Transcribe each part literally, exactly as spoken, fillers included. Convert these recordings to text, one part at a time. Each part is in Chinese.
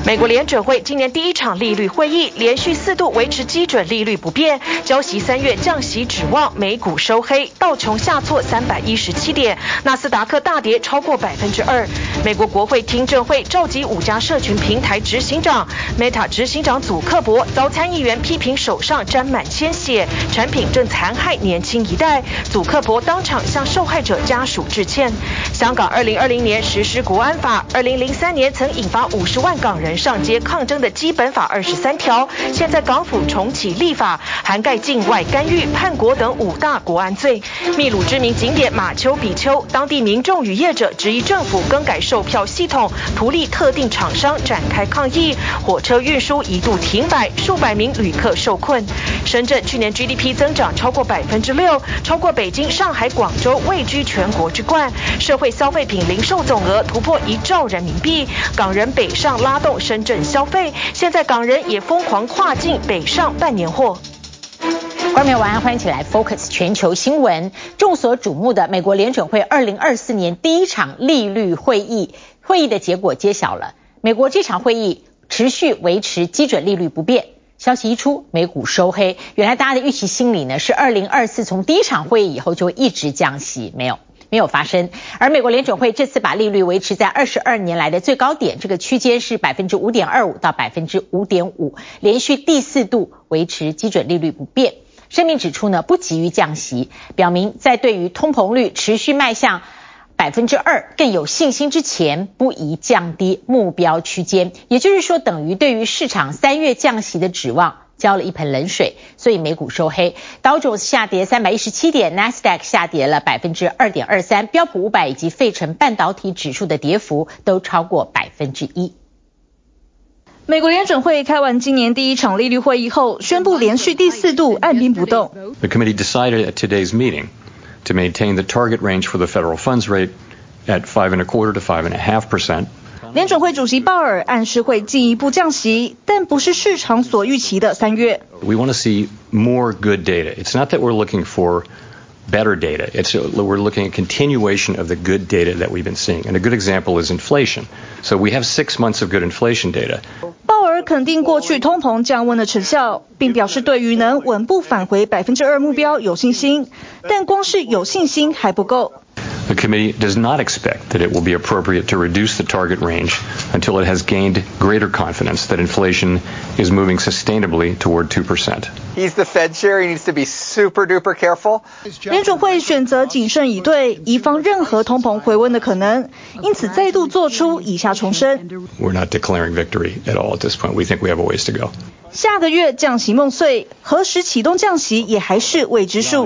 美國聯準會今年第一場利率會議，連續四度維持基準利率不變，澆熄三月降息指望，美股收黑，道瓊下挫三百一十七點，納斯達克大跌超過百分之二。美國國會聽證會召集五家社群平台執行長 ，Meta 執行長祖克伯遭參議員批評手上沾滿鮮血，產品正殘害年輕一代。祖克伯當場向受害者家屬致歉。香港二零二零年實施國安法，二零零三年曾引發五十萬港人上街抗爭的基本法二十三條，現在港府重啟立法，涵蓋境外干預、叛國等五大國安罪。秘魯知名景點馬丘比丘，當地民眾與業者質疑政府更改售票系統，圖利特定廠商展開抗議，火車運輸一度停擺，數百名旅客受困。深圳去年 G D P 增長超過百分之六，超過北京、上海、廣州，位居全國之冠。社會消費品零售總額突破一兆人民幣，港人北上拉動深圳消費，現在港人也瘋狂跨境北上辦年貨。 觀眾朋友晚安，歡迎起來 Focus 全球新聞。眾所矚目的美國聯準會二零二四年第一場利率會議，會議的結果揭曉了。美國這場會議持續維持基準利率不變。消息一出，美股收黑。原來大家的預期心理呢是二零二四從第一場會議以後就會一直降息，沒有。沒有發生，而美國聯準會這次把利率維持在二十二年來的最高點，這個區間是百分之五點二五到百分之五點五，連續第四度維持基準利率不變。聲明指出呢，不急於降息，表明在對於通膨率持續邁向百分之二更有信心之前，不宜降低目標區間。也就是說，等於對於市場三月降息的指望澆了一盆冷水，所以美股收黑，道瓊斯下跌三百一十七點，納斯達克下跌了百分之二點二三，標普五百以及費城半導體指數的跌幅都超過百分之一。 美國聯準會開完今年第一場利率會議後，宣布連續第四度按兵不動。 The committee decided at today's meeting to maintain the target range for the federal funds rate at five and a quarter to five and a half percent. 聯準會主席鮑爾暗示會進一步降息，但不是市場所預期的三月。 We want to see more good data. It's not that we're looking for better data. It's we're looking at continuation of the good data that we've been seeing. And a good example is inflation. So we have six months of good inflation data. 鮑爾肯定過去通膨降溫的成效，並表示對於能穩步返回百分之二目標有信心，但光是有信心還不夠。 The committee does not expect that it will be appropriate to reduce the target range until it has gained greater confidence that inflation is moving sustainably toward two percent. He's the Fed chair. He needs to be super duper careful. 聯準會選擇謹慎以對，以防任何通膨回溫的可能，因此再度做出以下重申。 We're not declaring victory at all at this point. We think we have a ways to go. 下個月降息夢碎，何時啟動降息也還是未知數。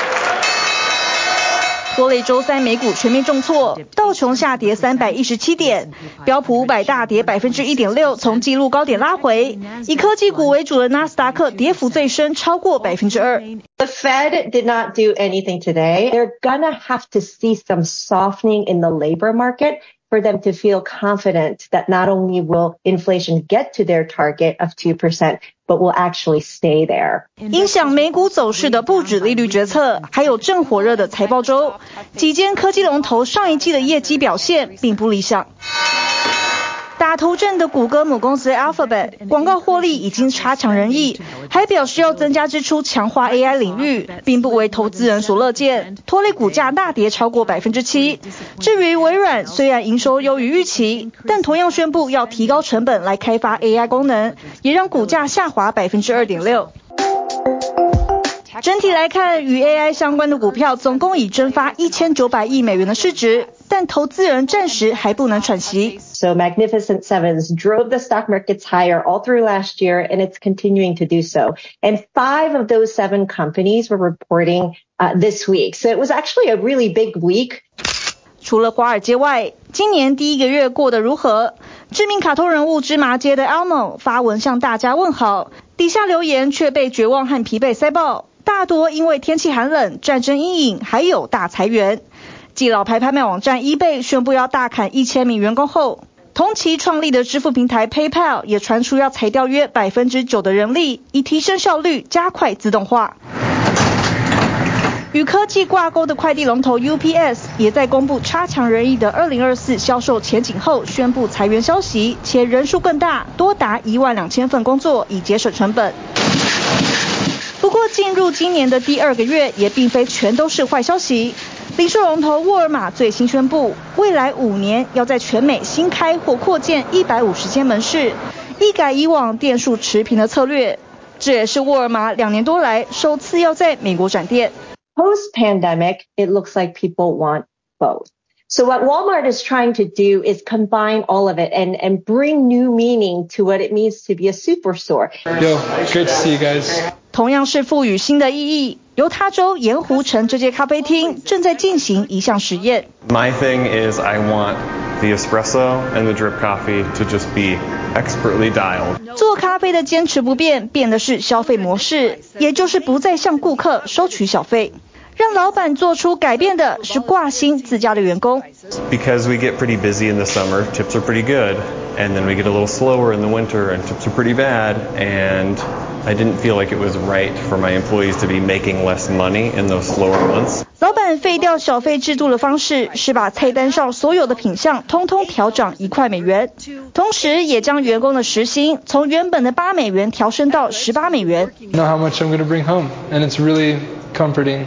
拖累週三美股全面重挫，道瓊下跌三百一十七點，標普五百大跌百分之一點六，從紀錄高點拉回。以科技股為主的納斯達克跌幅最深，超過百分之二。 The Fed did not do anything today. They're gonna have to see some softening in the labor market for them to feel confident that not only will inflation get to their target of two percent, but will actually stay there. 影響美股走勢的不止利率決策，還有正火熱的財報週。幾間科技龍頭上一季的業績表現並不理想。打頭陣的谷歌母公司 Alphabet 廣告獲利已經差強人意，還表示要增加支出強化 A I 領域，並不為投資人所樂見，拖累股價大跌超過百分之七。至於微軟，雖然營收優於預期，但同樣宣布要提高成本來開發 A I 功能，也讓股價下滑百分之二點六。整體來看，與 A I 相關的股票總共已蒸發一千九百億美元的市值，但投資人暫時還不能喘息。 So Magnificent Sevens drove the stock markets higher all through last year, and it's continuing to do so. And five of those seven companies were reporting uh, this week. So it was actually a really big week. 除了華爾街外，今年第一個月過得如何？知名卡通人物芝麻街的 Elmo 發文向大家問好，底下留言卻被絕望和疲憊塞爆。大多因為天氣寒冷、戰爭陰影，還有大裁員。繼老牌拍賣網站 eBay 宣布要大砍一千名員工後，同期創立的支付平台 PayPal 也傳出要裁掉約百分之九的人力，以提升效率、加快自動化。 與科技掛鈎的快遞龍頭 U P S 也在公布差強人意的二零二四銷售前景後，宣布裁員消息，且人數更大，多達一萬兩千份工作，以節省成本。不過，進入今年的第二個月，也並非全都是壞消息。零售龍頭沃爾瑪最新宣布，未來五年要在全美新開或擴建一百五十間門市，一改以往店數持平的策略。這也是沃爾瑪兩年多來首次要在美國展店。 Post-pandemic, it looks like people want both. So what Walmart is trying to do is combine all of it and, and bring new meaning to what it means to be a superstore. Yo, great to see you guys. 同樣是賦予新的意義，猶他州鹽湖城這間咖啡廳正在進行一項實驗。 My thing is I want the espresso and the drip coffee to just be expertly dialed. 做咖啡的堅持不變，變的是消費模式，也就是不再向顧客收取小費。讓老闆做出改變的是掛心自家的員工。 Because we get pretty busy in the summer, tips are pretty good, and then we get a little slower in the winter, and tips are pretty bad, and I didn't feel like it was right for my employees to be making less money in those slower months. 老闆廢掉小費制度的方式是把菜單上所有的品項通通調漲一塊美元，同時也將員工的時薪從原本的八美元調升到十八美元。 I know how much I'm going to bring home, and it's really comforting.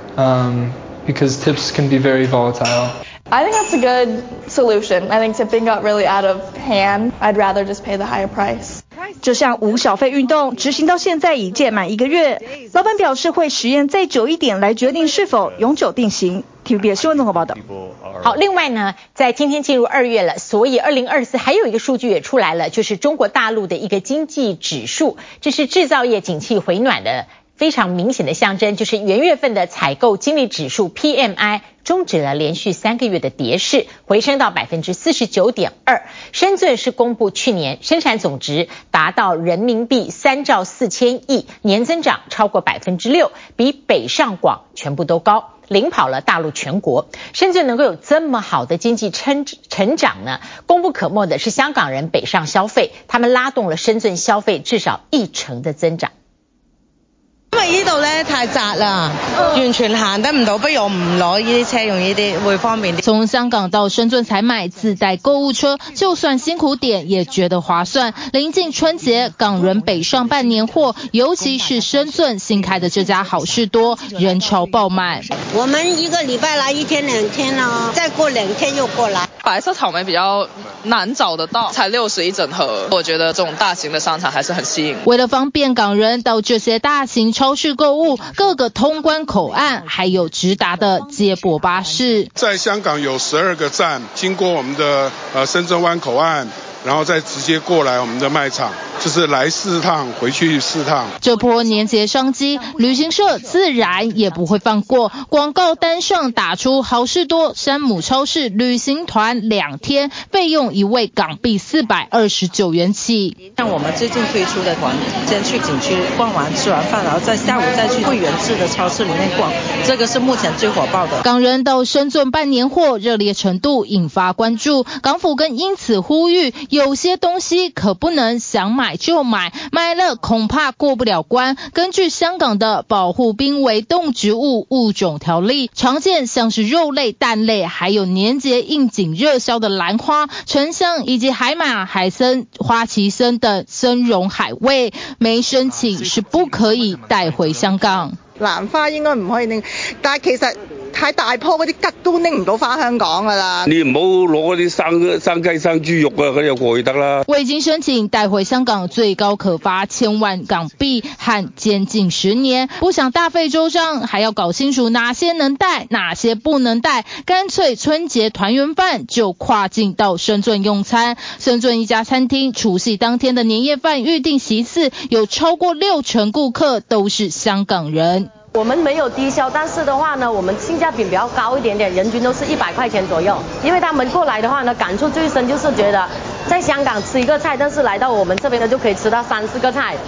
Um, because tips can be very volatile. I think that's a good solution. I think tipping got really out of hand. I'd rather just pay the higher price. 這項無小費運動執行到現在已屆滿一個月，老闆表示會實驗再久一點來決定是否永久定型。T V B S 新聞綜合報道。 好，另外呢，在今天進入二月了，所以二零二四還有一個數據也出來了，就是中國大陸的一個經濟指數，這是製造業景氣回暖的非常明顯的象徵，就是元月份的採購經理指數 P M I 終止了連續三個月的跌勢，回升到百分之四十九點二。深圳是公布去年生產總值達到人民幣三兆四千億，年增長超過百分之六，比北上廣全部都高，領跑了大陸全國。深圳能夠有這麼好的經濟成成長呢，功不可沒的是香港人北上消費，他們拉動了深圳消費至少一成的增長。 因為呢度咧太窄啦，完全行得唔到，不如我唔攞呢啲車，用呢啲會方便啲。 從香港到深圳採買自帶購物車，就算辛苦點也覺得划算。臨近春節，港人北上辦年貨，尤其是深圳新開的這家好事多，人潮爆滿。 我們一個禮拜來一天兩天啦，再過兩天又過來。 白色草莓比較難找得到，才六十一整盒，我覺得這種大型的商場還是很吸引。 為了方便港人到這些大型超市購物，各個通關口岸還有直達的接駁巴士。 在香港有十二個站，經過我們的呃深圳灣口岸，然後再直接過來我們的賣場，就是來四趟，回去四趟。 這波年節商機，旅行社自然也不會放過。廣告單上打出好事多山姆超市旅行團兩天，費用一位港幣四百二十九元起。 像我們最近推出的團，先去景區逛完吃完飯，然後在下午再去會員制的超市裡面逛，這個是目前最火爆的。 港人到深圳辦年貨，熱烈程度引發關注。港府更因此呼籲，有些東西可不能想買就買，買了恐怕過不了關。根據香港的保護瀕危動植物物種條例，常見像是肉類、蛋類，還有年節應景熱銷的蘭花、沉香以及海馬、海參、花旗參等參茸海味，沒申請是不可以帶回香港。 蘭花應該唔可以拎，但係其實太大棵嗰啲桔都拎唔到返香港㗎啦。 你唔好攞嗰啲生生雞生豬肉啊，嗰啲過去得啦。 未經申請帶回香港，最高可罰千萬港幣和監禁十年。不想大費周章，還要搞清楚哪些能帶，哪些不能帶，乾脆春節團圓飯就跨境到深圳用餐。深圳一家餐廳除夕當天的年夜飯預訂席次，有超過六成顧客都是香港人。 我們沒有低消，但是的話呢，我們性價比比較高一點點，人均都是一百塊錢左右。因為他們過來的話呢，感觸最深就是覺得在香港吃一個菜，但是來到我們這邊呢就可以吃到三四個菜，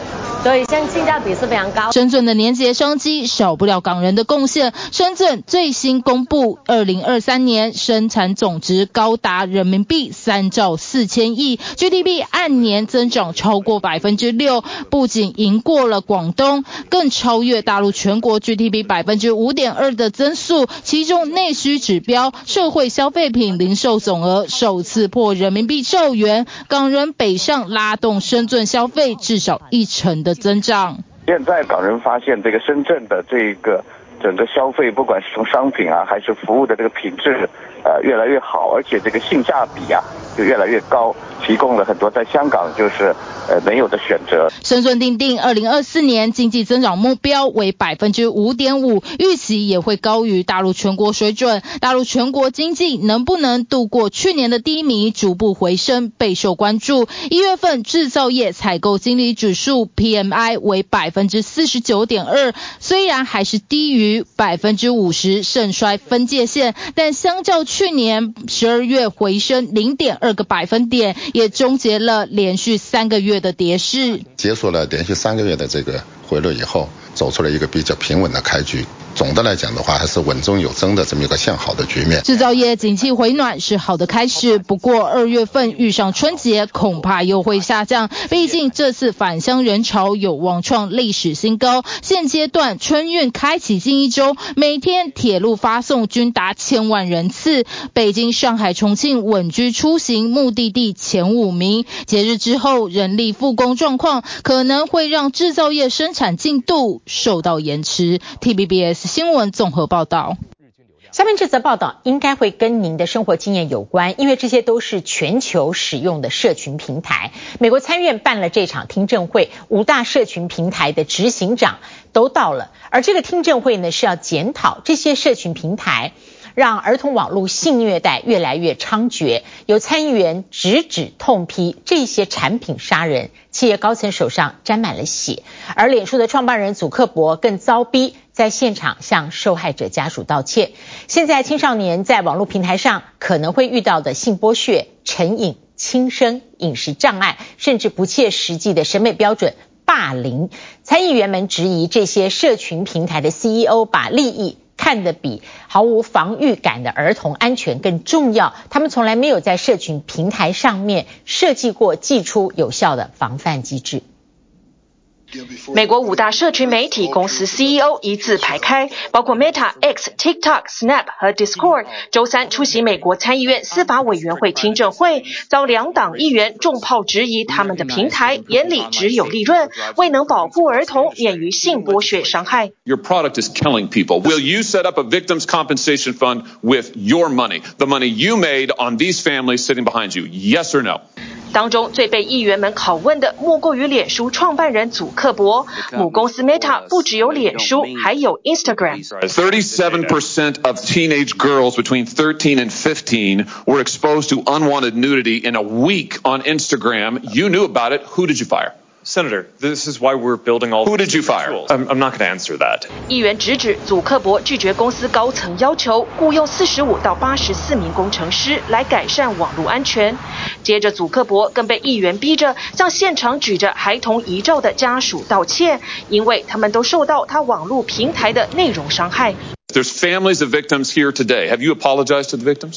所以像性價比是非常高。 深圳的年節商機少不了港人的貢獻。深圳最新公布，二零二三年生產總值高達人民幣三兆四千億 ，G D P 按年增長超過百分之六，不僅贏過了廣東，更超越大陸全國 G D P 百分之五點二的增速。其中內需指標、社會消費品零售總額首次破人民幣兆元，港人北上拉動深圳消費至少一成的增長。 現在港人發現這個深圳的這個整個消費，不管是從商品啊還是服務的這個品質，呃越來越好，而且這個性價比啊就越來越高，提供了很多在香港就是呃沒有的選擇。 深圳訂定二零二四年經濟增長目標為百分之五點五，預期也會高於大陸全國水準。大陸全國經濟能不能度過去年的低迷，逐步回升備受關注。一月份製造業採購經理指數 P M I 為百分之四十九點二，雖然還是低於百分之五十盛衰分界線，但相較去年十二月回升零點二個百分點，也終結了連續三個月的跌勢。 結束了連續三個月的這個回落以後，走出了一個比較平穩的開局。總的來講的話，還是穩中有增的這麼一個向好的局面。 製造業景氣回暖是好的開始，不過二月份遇上春節，恐怕又會下降。畢竟這次返鄉人潮有望創歷史新高。現階段春運開啟近一周，每天鐵路發送均達千萬人次。北京、上海、重慶穩居出行目的地前五名。節日之後，人力復工狀況可能會讓製造業生產進度受到延遲。T V B S新聞綜合報道。 下面這則報道應該會跟您的生活經驗有關，因為這些都是全球使用的社群平台。美國參院辦了這場聽證會，五大社群平台的執行長都到了，而這個聽證會呢是要檢討這些社群平台讓兒童網絡性虐待越來越猖獗，有參議員直指痛批這些產品殺人，企業高層手上沾滿了血，而臉書的創辦人祖克伯更遭逼在現場向受害者家屬道歉。現在青少年在網絡平台上可能會遇到的性剝削、成癮、輕生、飲食障礙，甚至不切實際的審美標準、霸凌，參議員們質疑這些社群平台的 C E O 把利益看得比毫無防禦感的兒童安全更重要，他們從來沒有在社群平台上面設計過祭出有效的防範機制。 美國五大社群媒體公司 C E O 一字排開，包括 Meta、X、TikTok、Snap 和 Discord。週三出席美國參議院司法委員會聽證會，遭兩黨議員重炮質疑他們的平台眼裡只有利潤，未能保護兒童免於性剝削傷害。 Your product is killing people. Will you set up a victims compensation fund with your money, the money you made on these families sitting behind you? Yes or no? 當中最被議員們拷問的莫過於臉書創辦人祖克伯，母公司 Meta 不只有臉書，還有 Instagram。 thirty-seven percent of teenage girls between thirteen and fifteen were exposed to unwanted nudity in a week on Instagram. You knew about it. Who did you fire? Senator, this is why we're building all. Who did you fire? I'm, I'm not going to answer that. 議員直指祖克伯拒絕公司高層要求，僱用四十五到八十四名工程師來改善網絡安全。接着，祖克伯更被議員逼着向現場舉着孩童遺照的家屬道歉，因為他們都受到他網絡平台的內容傷害。 There's families of victims here today. Have you apologized to the victims?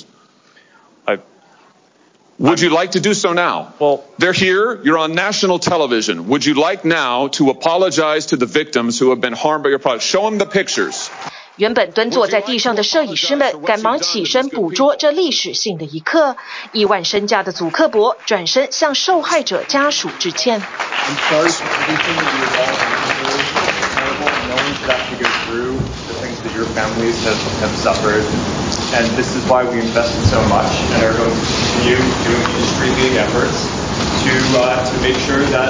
I. Would you like to do so now? Well, they're here. You're on national television. Would you like now to apologize to the victims who have been harmed by your product? Show them the pictures. 原本蹲坐在地上的攝影師們趕忙起身捕捉這歷史性的一刻。億萬身價的祖克伯轉身向受害者家屬致歉。 I'm sorry for everything that you have all incurred. No one should have to go through the things that your families have, have suffered. And this is why we invested so much and are going to continue doing industry-leading efforts to uh, to make sure that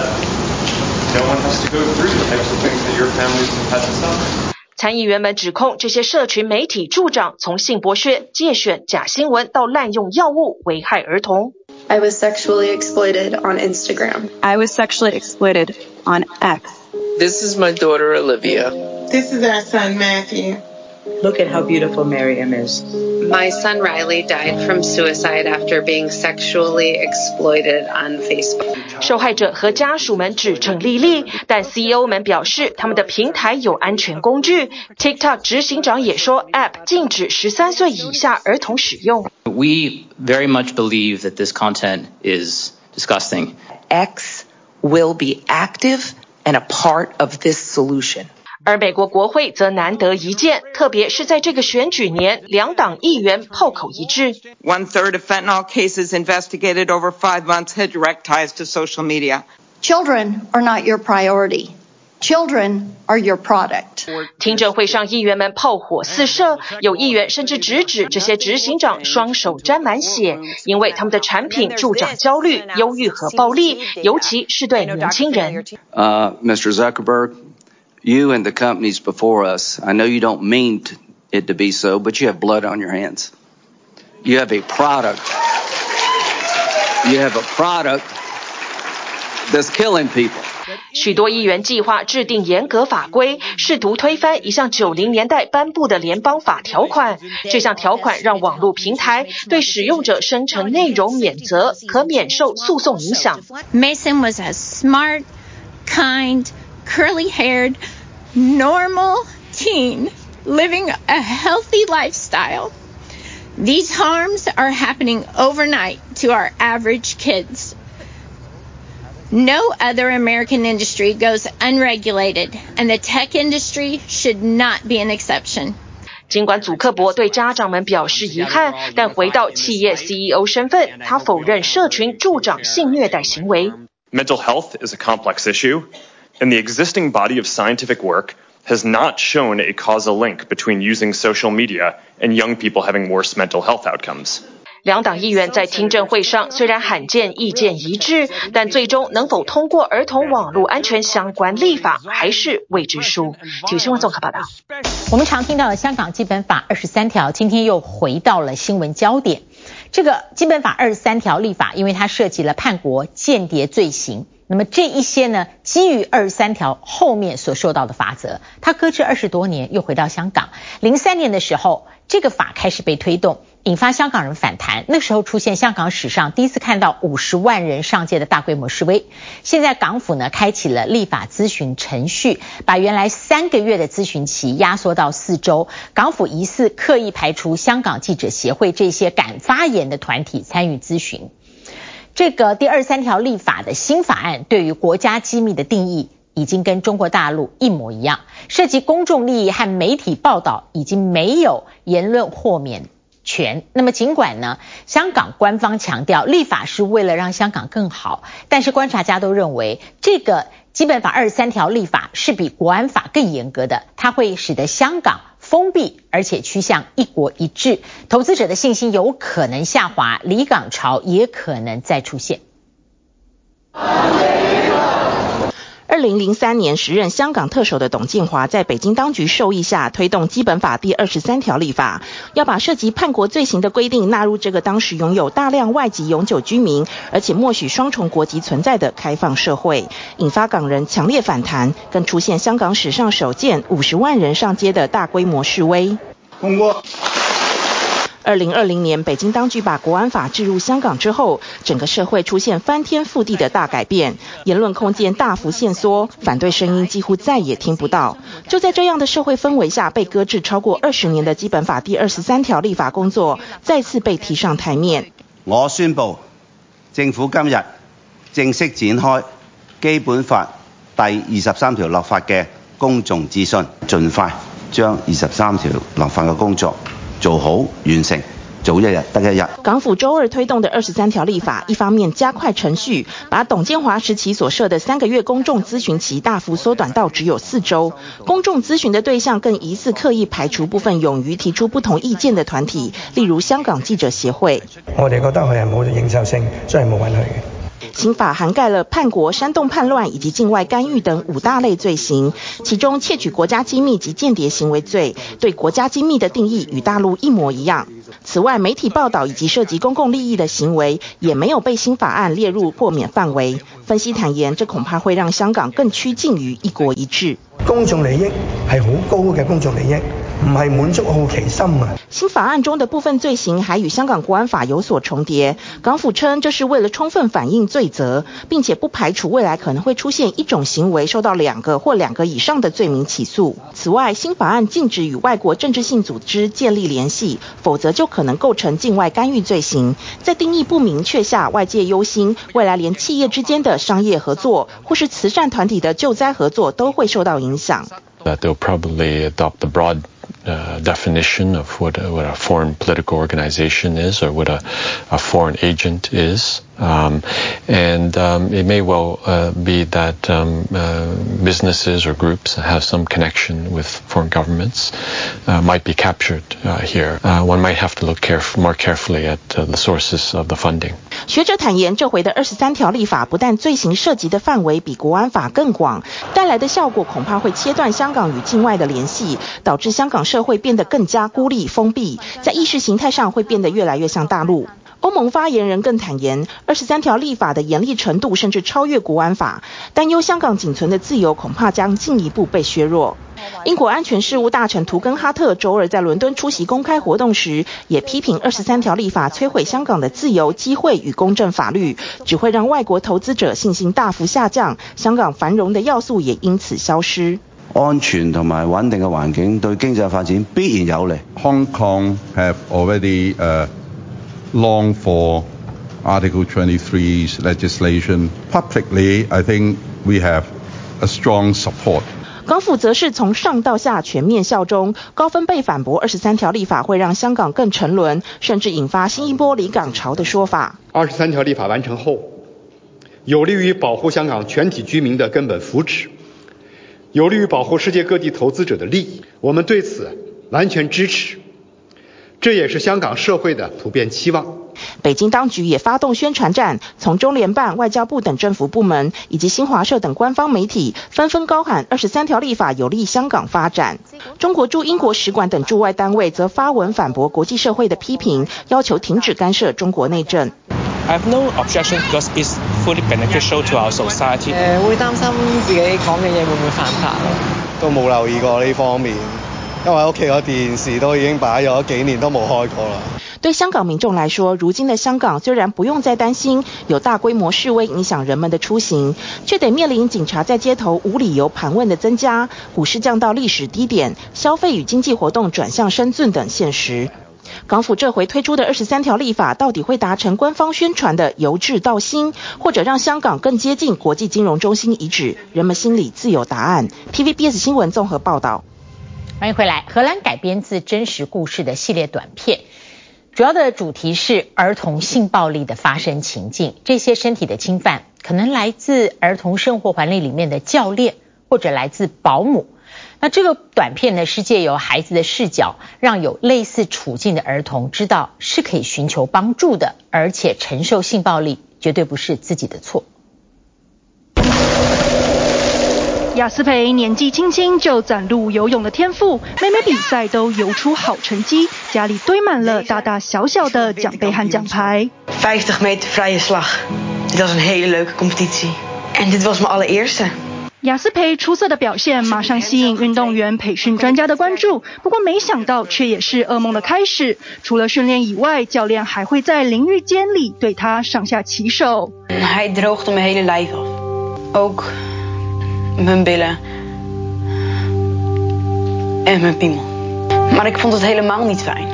no one has to go through the types of things that your families have had to suffer. 參議員們指控這些社群媒體助長從性剝削、介選、假新聞到濫用藥物危害兒童。 I was sexually exploited on Instagram. I was sexually exploited on X. This is my daughter Olivia. This is our son Matthew. Look at how beautiful Miriam is. My son Riley died from suicide after being sexually exploited on Facebook. 受害者和家屬們指證莉莉，但 C E O 們表示他們的平台有安全工具。TikTok 執行長也說 App 禁止十三歲以下兒童使用。 We very much believe that this content is disgusting. X will be active and a part of this solution. 而美國國會則難得一見，特別是在這個選舉年，兩黨議員炮口一致。 One third of fentanyl cases investigated over five months had direct ties to social media. Children are not your priority. Children are your product. 聽證會上，議員們炮火四射，有議員甚至直指這些執行長雙手沾滿血，因為他們的產品助長焦慮、憂鬱和暴力，尤其是對年輕人。 Uh, Mister Zuckerberg.You and the companies before us, I know you don't mean it to be so, but you have blood on your hands. You have a product. You have a product that's killing people. 許多議員計劃制定嚴格法規，試圖推翻一項九零年代頒布的聯邦法條款。這項條款讓網絡平台對使用者生成內容免責，可免受訴訟影響。 Mason was a smart, kind, curly-haired, normal teen living a healthy lifestyle. These harms are happening overnight to our average kids. No other American industry goes unregulated, and the tech industry should not be an exception. 儘管祖克伯對家長們表示遺憾，但回到企業 C E O 身份，他否認社群助長性虐待行為。 Mental health is a complex issue.And the existing body of scientific work has not shown a causal link between using social media and young people having worse mental health outcomes. 兩黨議員在聽證會上雖然罕見意見一致，但最終能否通過兒童網絡安全相關立法還是未知數。體育新聞綜合報道。 我們常聽到的香港基本法二十三條，今天又回到了新聞焦點。這個基本法二十三條立法，因為它涉及了叛國、間諜罪行。那麼這一些呢，基於二十三條後面所受到的罰則，它擱置二十多年，又回到香港。零三年的時候，這個法開始被推動，引發香港人反彈。那時候出現香港史上第一次看到五十萬人上街的大規模示威。現在港府呢，開啟了立法諮詢程序，把原來三個月的諮詢期壓縮到四週。港府疑似刻意排除香港記者協會這些敢發言的團體參與諮詢。這個第二十三條立法的新法案對於國家機密的定義已經跟中國大陸一模一樣，涉及公眾利益和媒體報道已經沒有言論豁免權。那麼儘管呢，香港官方強調立法是為了讓香港更好，但是觀察家都認為這個基本法二十三條立法是比國安法更嚴格的，它會使得香港封閉，而且趨向一國一制，投資者的信心有可能下滑，離港潮也可能再出現。 二零零三年時任香港特首的董建華在北京當局授意下推動基本法第二十三條立法，要把涉及叛國罪行的規定納入這個當時擁有大量外籍永久居民，而且默許雙重國籍存在的開放社會，引發港人強烈反彈，更出現香港史上首見五十萬人上街的大規模示威。通過。二零二零年，北京當局把國安法置入香港之後，整個社會出現翻天覆地的大改變，言論空間大幅限縮，反對聲音幾乎再也聽不到。就在這樣的社會氛圍下，被擱置超過二十年的基本法第二十三條立法工作再次被提上台面。 我宣布，政府今日正式展開基本法第二十三條立法嘅公眾諮詢，盡快將二十三條立法嘅工作做好完成，早一日得一日。 港府週二推動的二十三條立法，一方面加快程序，把董建華時期所設的三個月公眾諮詢期大幅縮短到只有四週。公眾諮詢的對象更疑似刻意排除部分勇於提出不同意見的團體，例如香港記者協會。 我哋覺得佢係冇認受性，所以冇允許嘅。 新法涵蓋了叛國、煽動叛亂以及境外干預等五大類罪行，其中竊取國家機密及間諜行為罪，對國家機密的定義與大陸一模一樣。此外，媒體報道以及涉及公共利益的行為，也沒有被新法案列入豁免範圍。分析坦言，這恐怕會讓香港更趨近於一國一制。 公眾利益係好高嘅公眾利益， 唔係滿足好奇心啊。 新法案中的部分罪行還與香港國安法有所重疊，港府稱這是為了充分反映罪責，並且不排除未來可能會出現一種行為受到兩個或兩個以上的罪名起訴。此外，新法案禁止與外國政治性組織建立聯繫，否則就可能構成境外干預罪行。在定義不明確下，外界憂心未來連企業之間的商業合作或是慈善團體的救災合作都會受到影響。 That they'll probably adopt the broad uh, definition of what a, what a foreign political organization is or what a, a foreign agent is. Um, and um, it may well uh, be that um, uh, businesses or groups that have some connection with foreign governments uh, might be captured uh, here. Uh, one might have to look caref- more carefully at uh, the sources of the funding. 學者坦言，這回的二十三條立法不但罪行涉及的範圍比國安法更廣，帶來的效果恐怕會切斷香港與境外的聯繫，導致香港社會變得更加孤立封閉，在意識形態上會變得越來越像大陸。歐盟發言人更坦言，二十三條立法的嚴厲程度甚至超越國安法，擔憂香港僅存的自由恐怕將進一步被削弱。英國安全事務大臣圖根哈特周二在倫敦出席公開活動時，也批評二十三條立法摧毀香港的自由、機會與公正法律，只會讓外國投資者信心大幅下降，香港繁榮的要素也因此消失。 安全同埋穩定嘅環境對經濟發展必然有利。 Hong Kong have already uh, longed for Article twenty-three's legislation. Publicly, I think we have a strong support. 港府則是從上到下全面效忠，高分貝反駁二十三條立法會讓香港更沉淪，甚至引發新一波離港潮的說法。 二十三條立法完成後，有利於保護香港全體居民的根本福祉，有利於保護世界各地投資者的利益，我們對此完全支持。這也是香港社會的普遍期望。 北京當局也發動宣傳戰，從中聯辦、外交部等政府部門以及新華社等官方媒體紛紛高喊二十三條立法有利香港發展。中國駐英國使館等駐外單位則發文反駁國際社會的批評，要求停止干涉中國內政。 I have no objection because it's fully beneficial to our society. 誒，會擔心自己講嘅嘢會唔會犯法咯？ 都冇留意過呢方面。因為屋企個電視都已經擺咗幾年都冇開過啦。 對香港民眾來說，如今的香港雖然不用再擔心有大規模示威影響人們的出行，卻得面臨警察在街頭無理由盤問的增加，股市降到歷史低點，消費與經濟活動轉向深圳等現實。港府這回推出的二十三條立法，到底會達成官方宣傳的由治到興，或者讓香港更接近國際金融中心遺址，人們心裡自有答案。T V B S 新聞綜合報道。 歡迎回來。荷蘭改編自真實故事的系列短片，主要的主題是兒童性暴力的發生情境。這些身體的侵犯可能來自兒童生活環境裡面的教練，或者來自保姆。那這個短片呢，是借由孩子的視角，讓有類似處境的兒童知道是可以尋求幫助的，而且承受性暴力絕對不是自己的錯。 雅斯培年紀輕輕就展露游泳的天賦，每每比賽都游出好成績，家裡堆滿了大大小小的獎盃和獎牌。 vijftig meter vrije slag. Dit was een hele leuke competitie. En dit was mijn allereerste. 雅斯培出色的表現馬上吸引運動員培訓專家的關注，不過沒想到卻也是噩夢的開始。除了訓練以外，教練還會在淋浴間裡對他上下其手。 Hij droogde mijn hele lijf af. Ook mijn billen en mijn piemel. Maar ik vond het helemaal niet fijn.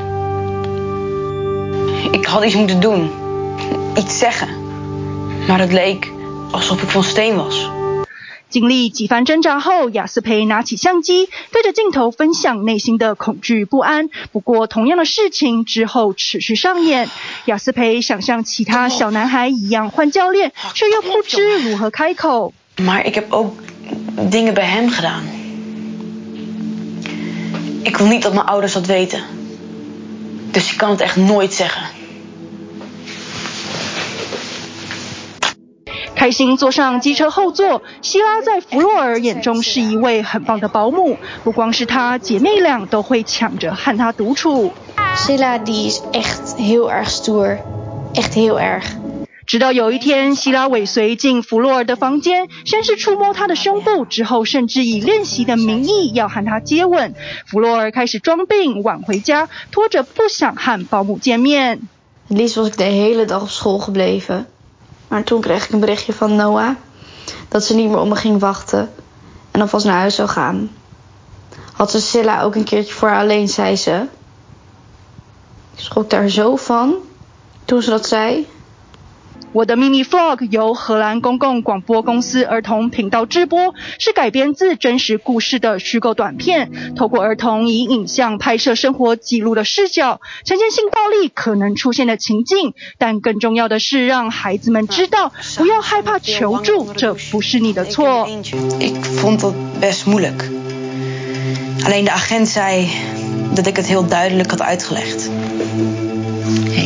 Ik had iets moeten doen, iets zeggen. Maar het leek alsof ik van steen was. 經歷幾番掙扎後，雅斯培拿起相機，對着鏡頭分享內心的恐懼不安。不過，同樣的事情之後持續上演。雅斯培想像其他小男孩一樣換教練，卻又不知如何開口。 Maar ik heb ook dingen bij hem gedaan. Ik wil niet dat mijn ouders dat weten. Dus ik kan het echt nooit zeggen. 開心坐上機車後座，希拉在弗洛爾眼中是一位很棒的保姆。不光是她，姐妹倆都會搶着和她獨處。 Sheila die is echt heel erg stoer, echt heel erg. 直到有一天，希拉尾隨進弗洛爾的房間，先是觸摸他的胸部，之後甚至以練習的名義要和他接吻。弗洛爾開始裝病，晚回家，拖着不想和保姆見面。 Het liefst was ik de hele dag op school gebleven. Maar toen kreeg ik een berichtje van Noah dat ze niet meer op me ging wachten en alvast naar huis zou gaan. Had ze Silla ook een keertje voor haar alleen, zei ze. Ik schrok daar zo van toen ze dat zei. 我的秘密 vlog 由荷蘭公共廣播公司兒童頻道製播，是改編自真實故事的虛構短片，透過兒童以影像拍攝生活記錄的視角，呈現性暴力可能出現的情境，但更重要的是讓孩子們知道不要害怕求助，這不是你的錯。 Ik vond dat best moeilijk. Alleen de agent zei dat ik het heel duidelijk had uitgelegd. Hey,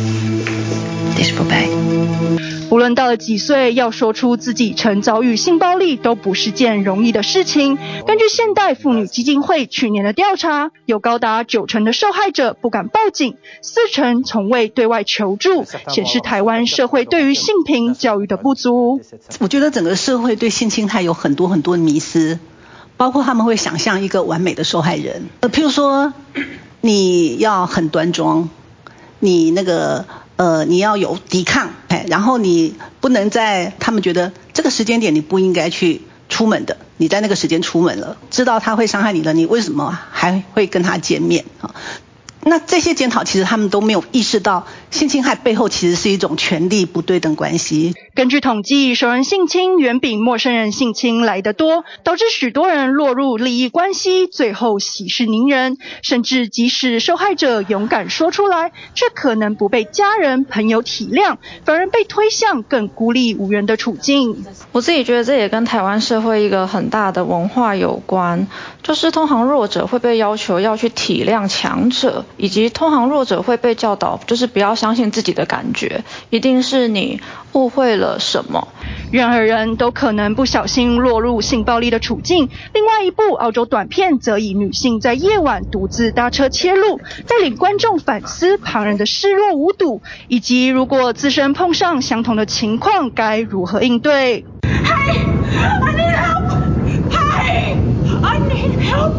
het is voorbij. 無論到了幾歲，要說出自己曾遭遇性暴力都不是件容易的事情。根據現代婦女基金會去年的調查，有高達九成的受害者不敢報警，四成從未對外求助，顯示台灣社會對於性平教育的不足。 我覺得整個社會對性侵害有很多很多的迷思，包括他們會想象一個完美的受害人，呃，譬如說你要很端莊，你那個呃，你要有抵抗，哎，然後你不能在他們覺得這個時間點你不應該去出門的，你在那個時間出門了，知道他會傷害你了，你為什麼還會跟他見面啊？那這些檢討其實他們都沒有意識到，性侵害背後其實是一種權力不對等關係。 根據統計，熟人性侵遠比陌生人性侵來得多，導致許多人落入利益關係，最後息事寧人。甚至即使受害者勇敢說出來，卻可能不被家人朋友體諒，反而被推向更孤立無援的處境。 我自己覺得這也跟台灣社會一個很大的文化有關，就是通常弱者會被要求要去體諒強者，以及通常弱者會被教導就是不要相信自己的感覺，一定是你誤會了什麼。 任何人都可能不小心落入性暴力的處境。另外一部澳洲短片則以女性在夜晚獨自搭車切入，帶領觀眾反思旁人的視若無睹，以及如果自身碰上相同的情況該如何應對。Hey, I need help! Hey, I need help!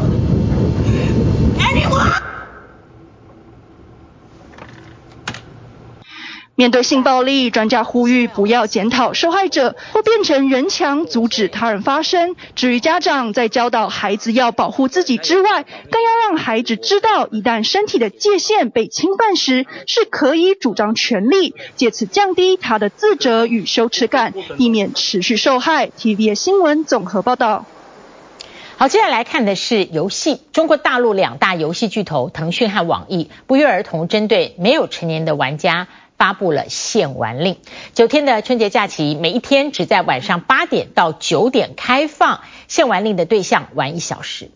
Anyone?面對性暴力，專家呼籲不要檢討受害者或變成人牆阻止他人發聲。至於家長，在教導孩子要保護自己之外，更要讓孩子知道，一旦身體的界限被侵犯時，是可以主張權利，借此降低他的自責與羞恥感，避免持續受害。T V B S 新聞綜合報道。 好，接下來看的是遊戲。中國大陸兩大遊戲巨頭騰訊和網易不約而同針對沒有成年的玩家發布了限玩令。九天的春節假期，每一天只在晚上八點到九點開放，限玩令的對象玩一小時。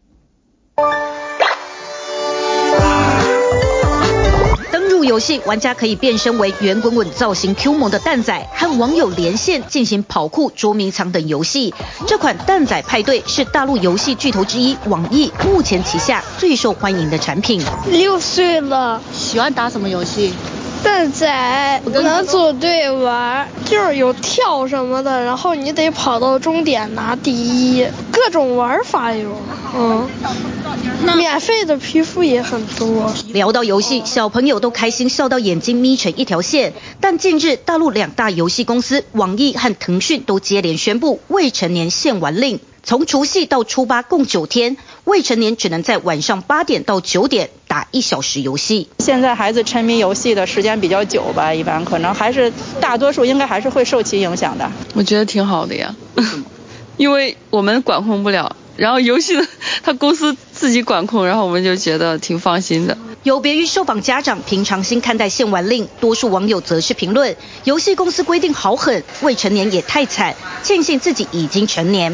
登入遊戲，玩家可以變身為圓滾滾造型 Q 萌的蛋仔，和網友連線進行跑酷、捉迷藏等遊戲。這款蛋仔派對是大陸遊戲巨頭之一網易目前旗下最受歡迎的產品。 六歲了， 喜歡打什麼遊戲？ 蛋仔能組隊玩，就是有跳什麼的，然後你得跑到終點拿第一，各種玩法有，嗯，免費的皮膚也很多。 聊到遊戲，小朋友都開心笑到眼睛眯成一條線。但近日，大陸兩大遊戲公司網易和騰訊都接連宣布未成年限玩令。從除夕到初八共九天，未成年只能在晚上八點到九點打一小時遊戲。 現在孩子沉迷遊戲的時間比較久吧，一般可能還是大多數應該還是會受其影響的。 我覺得挺好的呀，因為我們管控不了，然後遊戲的他公司自己管控，然後我們就覺得挺放心的。 有別於受訪家長平常心看待限玩令，多數網友則是評論，遊戲公司規定好狠，未成年也太慘，慶幸自己已經成年。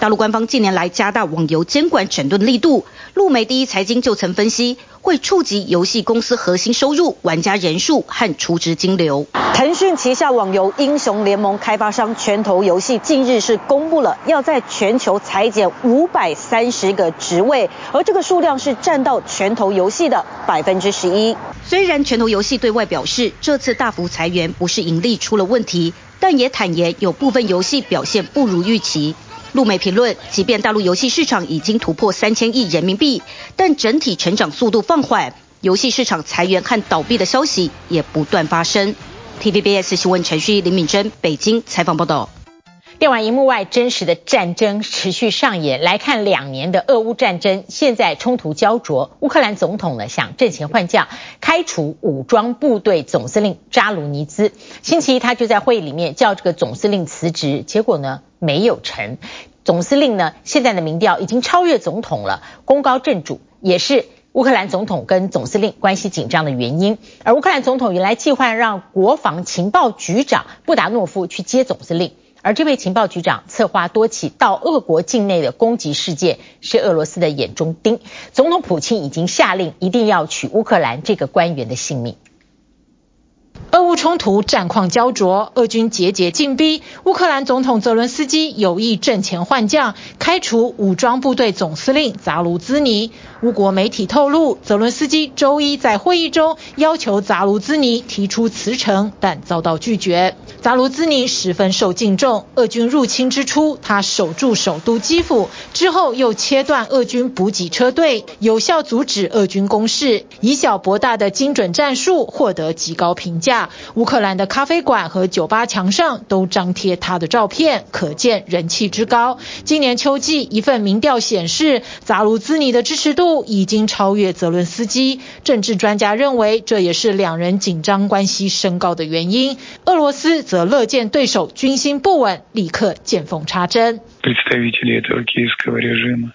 大陸官方近年來加大網遊監管整頓力度，陸媒第一財經就曾分析，會觸及遊戲公司核心收入、玩家人數和儲值金流。 騰訊旗下網遊英雄聯盟開發商拳頭遊戲近日是公布了要在全球裁減五百三十個職位，而這個數量是佔到拳頭遊戲的百分之十一。 雖然拳頭遊戲對外表示這次大幅裁員不是盈利出了問題，但也坦言有部分遊戲表現不如預期。陸媒評論，即便大陸遊戲市場已經突破三千億人民幣，但整體成長速度放緩，遊戲市場裁員和倒閉的消息也不斷發生。T V B S 新聞程序林敏珍北京採訪報道。 電玩熒幕外，真實的戰爭持續上演。來看兩年的俄烏戰爭，現在衝突膠着。烏克蘭總統呢想陣前換將，開除武裝部隊總司令扎盧尼茲。星期一他就在會議裡面叫這個總司令辭職，結果呢沒有成。總司令呢現在的民調已經超越總統了，功高震主，也是烏克蘭總統跟總司令關係緊張的原因。而烏克蘭總統原來計劃讓國防情報局長布達諾夫去接總司令。而這位情報局長策劃多起到俄國境內的攻擊事件，是俄羅斯的眼中釘。總統普京已經下令一定要取烏克蘭這個官員的性命。俄烏衝突戰況膠着，俄軍節節進逼，烏克蘭總統澤倫斯基有意陣前換將，開除武裝部隊總司令扎盧茲尼。烏國媒體透露，澤倫斯基周一在會議中要求扎盧茲尼提出辭呈，但遭到拒絕。扎盧茲尼十分受敬重，俄軍入侵之初，他守住首都基輔，之後又切斷俄軍補給車隊，有效阻止俄軍攻勢，以小博大的精準戰術獲得極高評價。烏克蘭的咖啡館和酒吧牆上都張貼他的照片，可見人氣之高。今年秋季，一份民調顯示，扎盧茲尼的支持度已經超越澤倫斯基。政治專家認為，這也是兩人緊張關係升高的原因。俄羅斯則樂見對手軍心不穩，立刻見縫插針。 представители этого киевского режима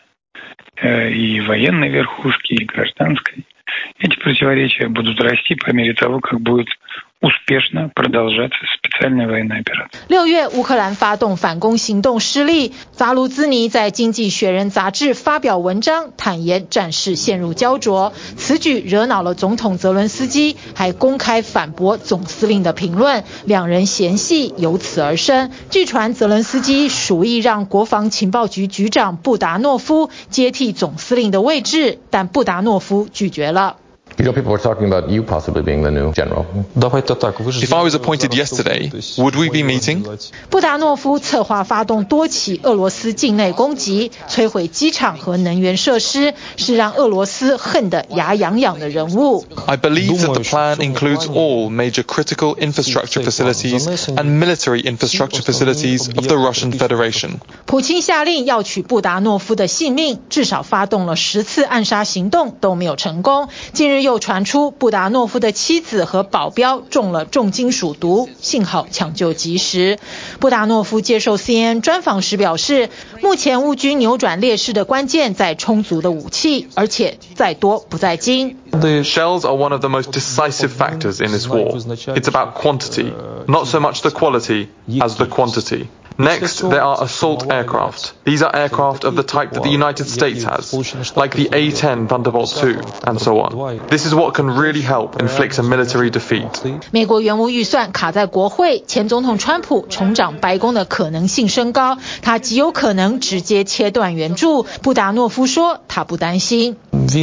и военной верхушки, и гражданской, эти противоречия будут расти по мере того, как будет успешно продолжаться специальная военная операция。 六月，烏克蘭發動反攻行動失利，扎盧茲尼在《經濟學人》雜誌發表文章，坦言戰事陷入膠着。此舉惹惱了總統澤倫斯基，還公開反駁總司令的評論，兩人嫌隙由此而生。據傳，澤倫斯基屬意讓國防情報局局長布達諾夫接替總司令的位置，但布達諾夫拒絕了。 You know, people were talking about you possibly being the new general. If I was appointed yesterday, would we be meeting? 布達諾夫策劃發動多起俄羅斯境內攻擊，摧毀機場和能源設施，是讓俄羅斯恨得牙癢癢的人物。 I believe that the plan includes all major critical infrastructure facilities and military infrastructure facilities of the Russian Federation. 普京下令要取布達諾夫的性命，至少發動了十次暗殺行動都沒有成功。近日又傳出布達諾夫的妻子和保鏢中了重金屬毒，幸好搶救及時。布達諾夫接受 C N N 專訪時表示，目前烏軍扭轉劣勢的關鍵在充足的武器，而且在多不在精。 The shells are one of the most decisive factors in this war. It's about quantity, not so much the quality as the quantity. Next, there are assault aircraft. These are aircraft of the type that the United States has, like the A ten Thunderbolt two, and so on. This is what can really help inflict a military defeat. 美國援烏預算卡在國會，前總統川普重掌白宮的可能性升高，他極有可能直接切斷援助。布達諾夫說，他不擔心。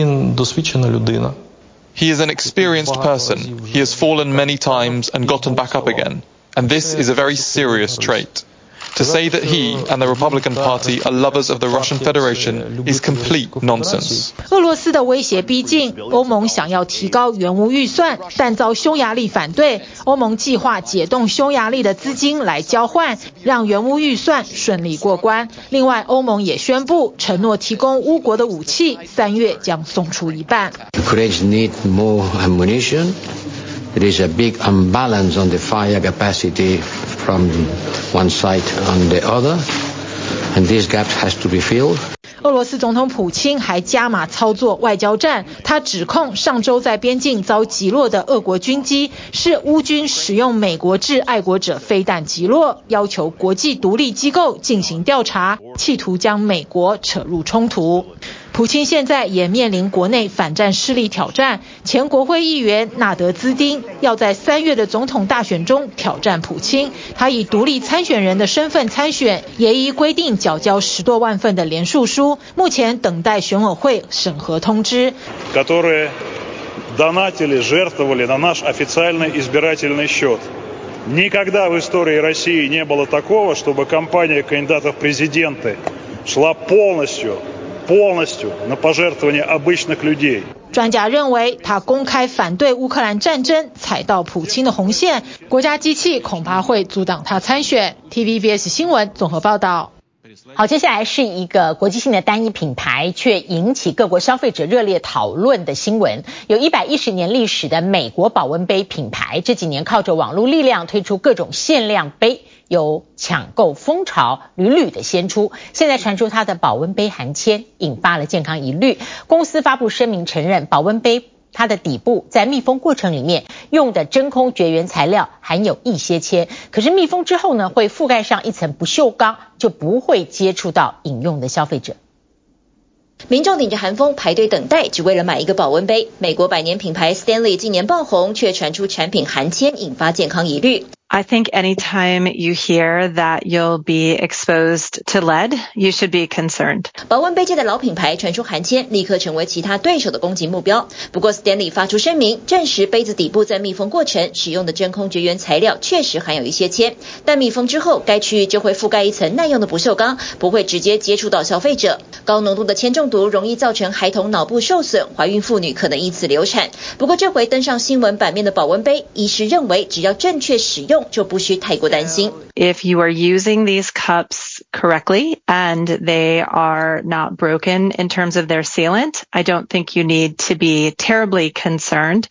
He is an experienced person. He has fallen many times and gotten back up again. And this is a very serious trait. To say that he and the Republican Party are lovers of the Russian Federation is complete nonsense. 俄羅斯的威脅逼近，歐盟想要提高援烏預算，但遭匈牙利反對。歐盟計劃解凍匈牙利的資金來交換，讓援烏預算順利過關。另外，歐盟也宣布承諾提供烏國的武器，三月將送出一半。 Ukraine need more ammunition. There is a big imbalance on the fire capacity from one side and the other, and this gap has to be filled. 俄羅斯總統普京還加碼操作外交戰，他指控上周在邊境遭擊落的俄國軍機是烏軍使用美國制愛國者飛彈擊落，要求國際獨立機構進行調查，企圖將美國扯入衝突。普京現在也面臨國內反戰勢力挑戰，前國會議員納德茲丁要在三月的總統大選中挑戰普京，他以獨立參選人的身份參選，也依規定繳交十多萬份的連署書，目前等待選委會審核通知。 которые донатили, жертвовали на наш официальный избирательный счет. Никогда в истории России не было такого, чтобы кампания кандидатов в президенты шла полностью полностью на пожертвование обычных людей. 專家認為，他公開反對烏克蘭戰爭，踩到普京的紅線，國家機器恐怕會阻擋他參選。T V B S 新聞綜合報道。好，接下來是一個國際性的單一品牌，卻引起各國消費者熱烈討論的新聞。有一百一十年歷史的美國保溫杯品牌，這幾年靠着網絡力量推出各種限量杯，有搶購風潮屢屢的掀出。現在傳出它的保溫杯含鉛，引發了健康疑慮。公司發布聲明承認，保溫杯它的底部在密封過程裡面用的真空絕緣材料含有一些鉛，可是密封之後呢，會覆蓋上一層不鏽鋼，就不會接觸到飲用的消費者。 民眾頂着寒風排隊等待，只為了買一個保溫杯。美國百年品牌 Stanley 今年爆紅，卻傳出產品含鉛，引發健康疑慮。 I think anytime you hear that you'll be exposed to lead, you should be concerned. 保溫杯界的老品牌傳出含鉛，立刻成為其他對手的攻擊目標。不過 Stanley 發出聲明，證實杯子底部在密封過程使用的真空絕緣材料確實含有一些鉛，但密封之後，該區域就會覆蓋一層耐用的不鏽鋼，不會直接接觸到消費者。高濃度的鉛中毒容易造成孩童腦部受損，懷孕婦女可能因此流產。不過這回登上新聞版面的保溫杯，醫師認為只要正確使用，就不需太過擔心。 If you are using these cups correctly and they are not broken in terms of their sealant, I don't think you need to be terribly concerned.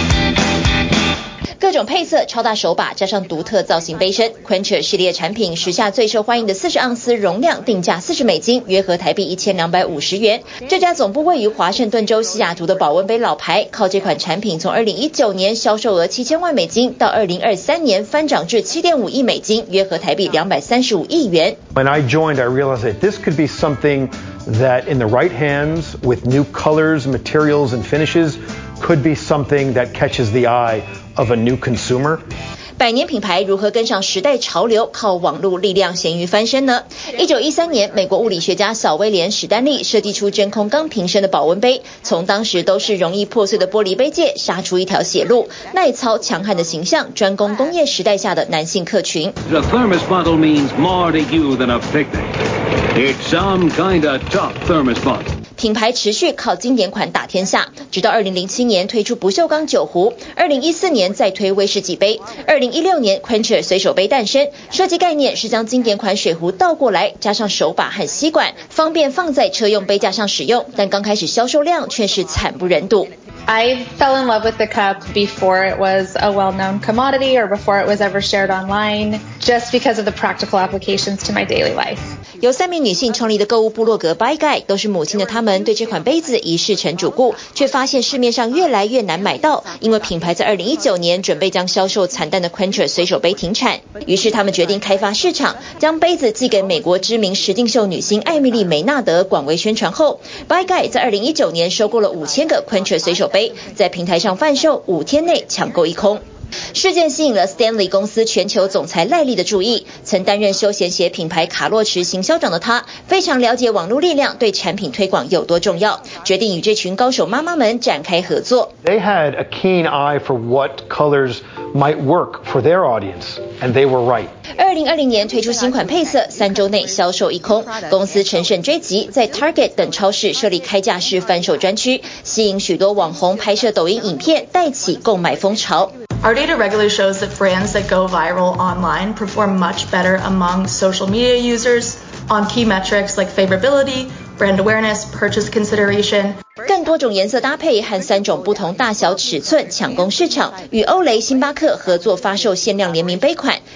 各種配色、超大手把加上獨特造型杯身 Quencher 系列產品時下最受歡迎的四十盎司容量定價四十美金，約合台幣一千兩百五十元。這家總部位於華盛頓州西雅圖的保溫杯老牌，靠這款產品從二零一九年銷售額七千萬美金，到二零二三年翻漲至七點五億美金，約合台幣兩百三十五億元。 When I joined, I realized that this could be something that in the right hands, with new colors, materials, and finishes, could be something that catches the eye of a new consumer. 百年品牌如何跟上時代潮流，靠網絡力量鹹魚翻身呢？一九一三年，美國物理學家小威廉史丹利設計出真空鋼瓶身的保溫杯，從當時都是容易破碎的玻璃杯界殺出一條血路，耐操強悍的形象，專攻工業時代下的男性客群。 The thermos bottle means more to you than a picnic. It's some kind of tough thermos bottle. 品牌持續靠經典款打天下，直到二零零七年推出不鏽鋼酒壺，二零一四年再推威士忌杯，二零一六年 Quencher 隨手杯誕生。設計概念是將經典款水壺倒過來，加上手把和吸管，方便放在車用杯架上使用。但剛開始銷售量卻是慘不忍睹。 I fell in love with the cup before it was a well-known commodity or before it was ever shared online, just because of the practical applications to my daily life. 由三名女性創立的購物部落格 Buy Guide， 都是母親的她們對這款杯子已視成主顧，卻發現市面上越來越難買到，因為品牌在二零一九年準備將銷售慘淡的 Quencher 隨手杯停產。於是他們決定開發市場，將杯子寄給美國知名實境秀女星艾蜜莉梅納德廣為宣傳後 ，Buy Guide 在二零一九年收購了五千個 Quencher 隨手杯，在平台上販售，五天內搶購一空。事件吸引了 Stanley 公司全球總裁賴利的注意。曾擔任休閒鞋品牌卡洛馳行銷長的他，非常了解網絡力量對產品推廣有多重要，決定與這群高手媽媽們展開合作。 They had a keen eye for what colors might work for their audience, and they were right. 二零二零年推出新款配色，三週內銷售一空。公司乘勝追擊，在 Target 等超市設立開架式販售專區，吸引許多網紅拍攝抖音影片，帶起購買風潮。 Our data regularly shows that brands that go viral online perform much better among social media users on key metrics like favorability, brand awareness, purchase consideration. 更多種顏色搭配和三種不同大小尺寸搶攻市場，與歐蕾、星巴克合作發售限量聯名杯款，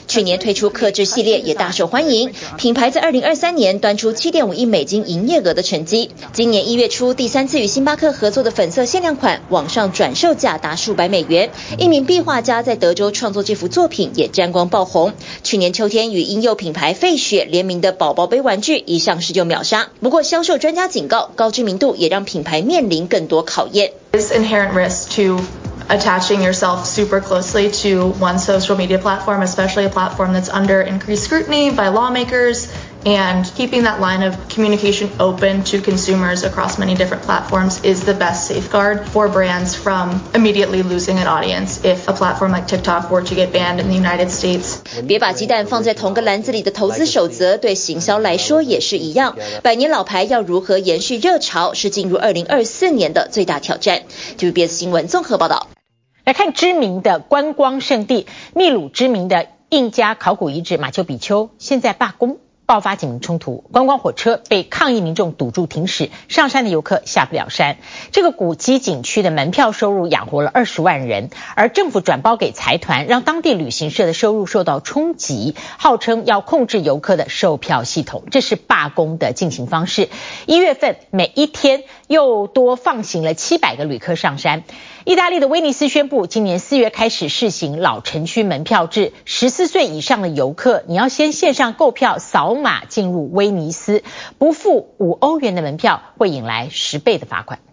去年推出客製系列也大受歡迎，品牌在二零二三年端出七點五億美金營業額的成績。今年一月初第三次與星巴克合作的粉色限量款，網上轉售價達數百美元。一名壁畫家在德州創作這幅作品也沾光爆紅。去年秋天與嬰幼品牌費雪聯名的寶寶杯玩具一上市就秒殺。不過銷售專家警告，高知名度也讓品牌面臨更多考驗。 There's inherent risk to attaching yourself super closely to one social media platform, especially a platform that's under increased scrutiny by lawmakers, and keeping that line of communication open to consumers across many different platforms is the best safeguard for brands from immediately losing an audience if a platform like TikTok were to get banned in the United States. 別把雞蛋放在同個籃子裡的投資守則，對行銷來說也是一樣。百年老牌要如何延續熱潮，是進入二零二四年的最大挑戰。T V B S 新聞綜合報道。 來看知名的觀光勝地秘魯知名的印加考古遺址馬丘比丘，現在罷工。爆發警民衝突，觀光火車被抗議民眾堵住停駛，上山的遊客下不了山。這個古蹟景區的門票收入養活了二十萬人，而政府轉包給財團，讓當地旅行社的收入受到衝擊，號稱要控制遊客的售票系統。這是罷工的進行方式。一月份每一天又多放行了七百個旅客上山。意大利的威尼斯宣布，今年四月開始試行老城區門票制，十四歲以上的遊客，你要先線上購票掃碼進入威尼斯，不付五歐元的門票會引來十倍的罰款。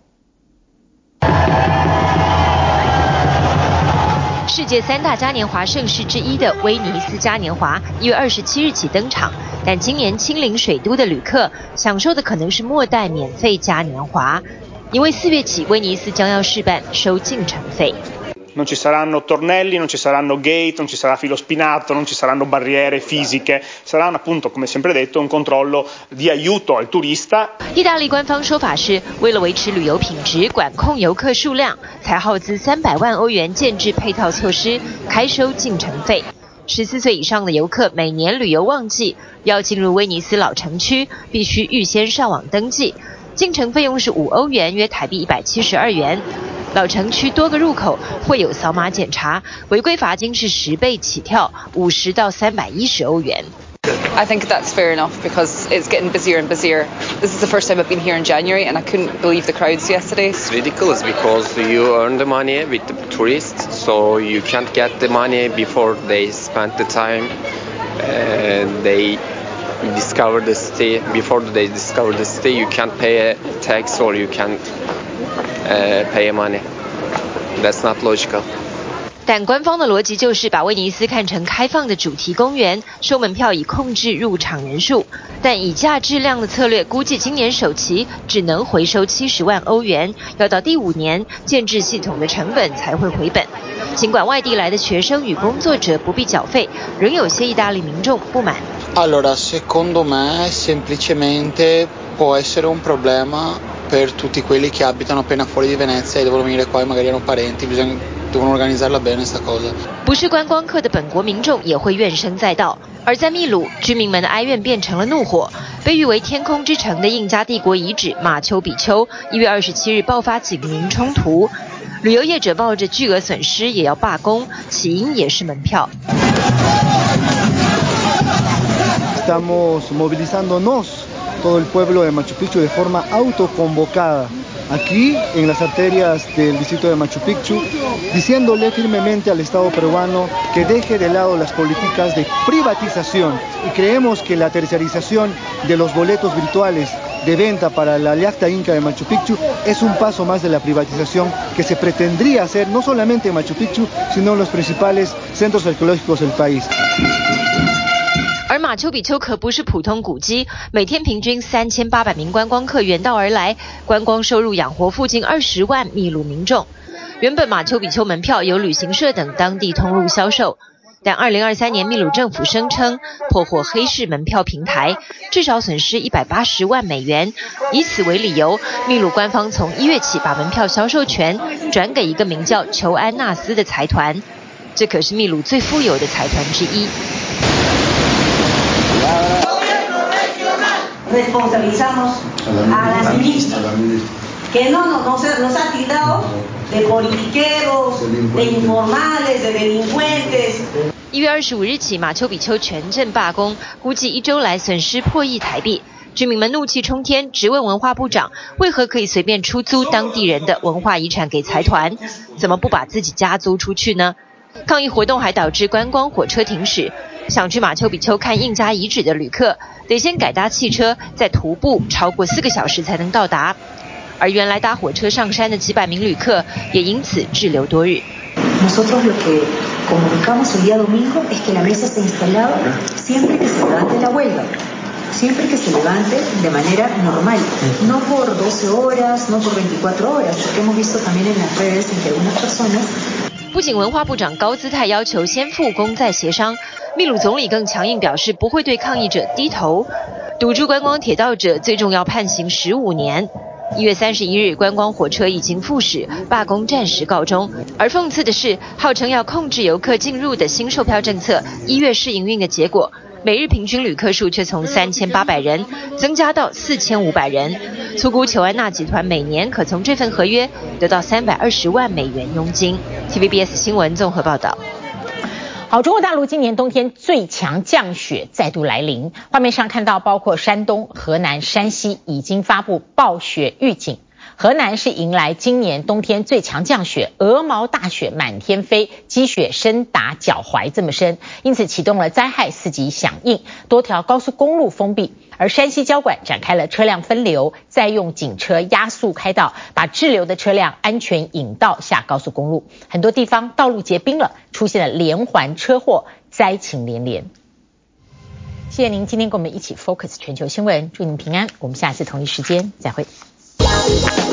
世界三大嘉年華盛事之一的威尼斯嘉年華，一月二十七日起登場，但今年親臨水都的旅客享受的可能是末代免費嘉年華。因為四月起，威尼斯將要試辦收進城費。 Non ci saranno tornelli, non ci saranno gate, non ci sarà filo spinato, non ci saranno barriere fisiche, sarà appunto, come sempre detto, un controllo di aiuto al turista. 意大利官方說法是，為了維持旅遊品質，管控遊客數量，才耗資三百萬歐元建置配套措施，開收進城費。十四歲以上的遊客每年旅遊旺季要進入威尼斯老城區，必須預先上網登記。進城費用是五歐元，約台幣一百七十二元。老城區多個入口會有掃碼檢查，違規罰金是十倍起跳，五十到三百一十歐元。 I think that's fair enough because it's getting busier and busier. This is the first time I've been here in January and I couldn't believe the crowds yesterday. It's ridiculous because you earn the money with the tourists, so you can't get the money before they spend the time and they discover the city. Before they discover the city, you can't pay a tax or you can't uh, pay money. That's not logical. 但官方的邏輯就是把威尼斯看成開放的主題公園，收門票以控制入場人數。但以價質量的策略，估計今年首期只能回收七十萬歐元，要到第五年建置系統的成本才會回本。儘管外地來的學生與工作者不必繳費，仍有些意大利民眾不滿。 Allora, secondo me semplicemente può essere un problema per tutti quelli che abitano appena fuori di Venezia e devono venire qua e magari hanno parenti, bisogna devono organizzarla bene sta cosa. 不是觀光客的本國民眾也會怨聲載道，而在秘魯，居民們的哀怨變成了怒火。被譽為天空之城的印加帝國遺址馬丘比丘，一月二十七日爆發警民衝突，旅遊業者冒着巨額損失也要罷工，起因也是門票。 Estamos movilizándonos todo el pueblo de Machu Picchu de forma autoconvocada aquí en las arterias del distrito de Machu Picchu, diciéndole firmemente al Estado peruano que deje de lado las políticas de privatización y creemos que la tercerización de los boletos virtuales de venta para la Yacta Inca de Machu Picchu es un paso más de la privatización que se pretendría hacer no solamente en Machu Picchu, sino en los principales centros arqueológicos del país. 而馬丘比丘可不是普通古蹟，每天平均三千八百名觀光客遠道而來，觀光收入養活附近二十萬秘魯民眾。原本馬丘比丘門票由旅行社等當地通路銷售，但二零二三年秘魯政府聲稱破獲黑市門票平台，至少損失一百八十萬美元。以此為理由，秘魯官方從一月起把門票銷售權轉給一個名叫裘安納斯的財團，這可是秘魯最富有的財團之一。 Responsabilizamos a la ministra que no, no, no se, nos ha tildado de politiqueros, de informales, de delincuentes. 一月二十五日起，馬丘比丘全鎮罷工，估計一周來損失破億台幣。居民們怒氣沖天，質問文化部長為何可以隨便出租當地人的文化遺產給財團，怎麼不把自己家租出去呢？抗議活動還導致觀光火車停駛，想去馬丘比丘看印加遺址的旅客得先改搭汽車，再徒步超過四個小時才能到達。而原來搭火車上山的幾百名旅客也因此滯留多日。 Nosotros lo que comunicamos el día domingo es que la mesa se instalaba siempre que se levante la huelga, siempre que se levante de manera normal, no por doce horas, no por veinticuatro horas, porque hemos visto también en las redes en que algunas personas。 不僅文化部長高姿態要求先復工再協商，秘魯總理更強硬表示不會對抗議者低頭，堵住觀光鐵道者最終要判刑十五年。一月三十一日，觀光火車已經復駛，罷工暫時告終。而諷刺的是，號稱要控制遊客進入的新售票政策，一月試營運的結果，每日平均旅客數卻從三千八百人增加到四千五百人。粗估裘安娜集團每年可從這份合約得到三百二十萬美元佣金。T V B S 新聞綜合報道。 好，中國大陸今年冬天最強降雪再度來臨，畫面上看到包括山東、河南、山西已經發布暴雪預警。河南是迎來今年冬天最強降雪，鵝毛大雪滿天飛，積雪深達腳踝這麼深，因此啟動了災害四級響應，多條高速公路封閉。而山西交管展開了車輛分流，再用警車壓速開道，把滯留的車輛安全引到下高速公路。很多地方道路結冰了，出現了連環車禍，災情連連。謝謝您今天跟我們一起 Focus 全球新聞，祝您平安，我們下次同一時間再會。